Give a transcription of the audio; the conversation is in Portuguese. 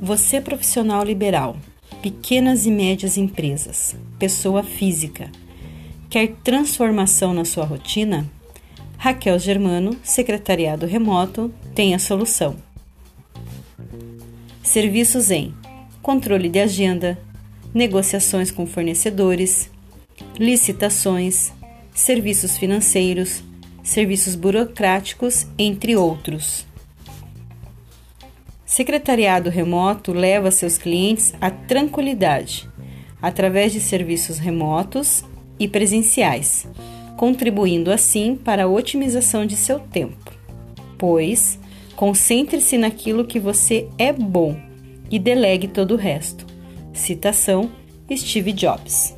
Você profissional liberal, pequenas e médias empresas, pessoa física, quer transformação na sua rotina? Raquel Germano, Secretariado Remoto, tem a solução. Serviços em controle de agenda, negociações com fornecedores, licitações, serviços financeiros, serviços burocráticos, entre outros. Secretariado Remoto leva seus clientes à tranquilidade, através de serviços remotos e presenciais, contribuindo assim para a otimização de seu tempo. Pois, concentre-se naquilo que você é bom e delegue todo o resto. Citação: Steve Jobs.